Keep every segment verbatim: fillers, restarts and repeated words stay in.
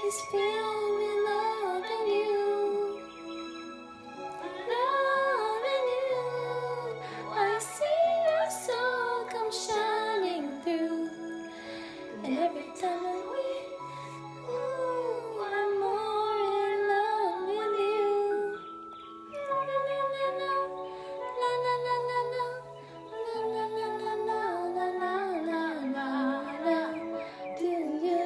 is filled with love and you, love and you. I see your soul come shining through, and every time that we, ooh, I'm more in love with you. La la la la, la la la la la, la la la la la la la la. Do you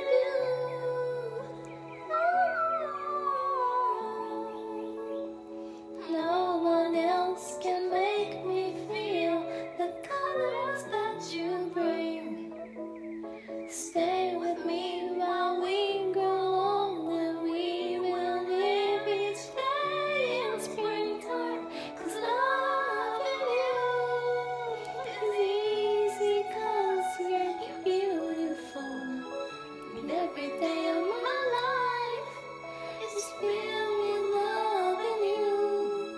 do? No one else can make me feel the colors that you bring. Stay with me while we grow old, and we will live each day in springtime. 'Cause loving you is easy, 'cause you're beautiful. And every day of my life is filled with loving you,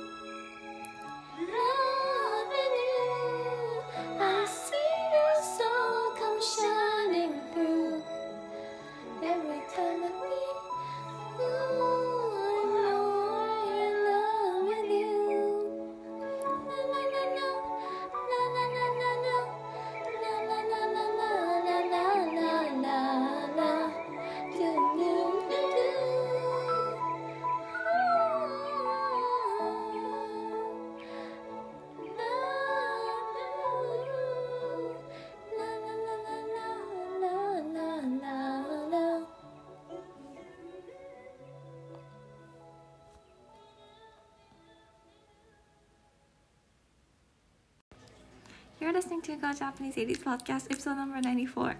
loving you. I see your soul come shining through, every time that we, ooh, I'm more in love with you. La la la la, la la la la la, la la la la la la la la la. Do do do do. La la la la la la la la. You're listening to Go Japanese eighties Podcast Episode Number ninety-four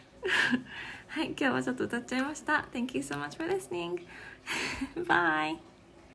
はい、今日はちょっと歌っちゃいました。 Thank you so much for listening. Bye.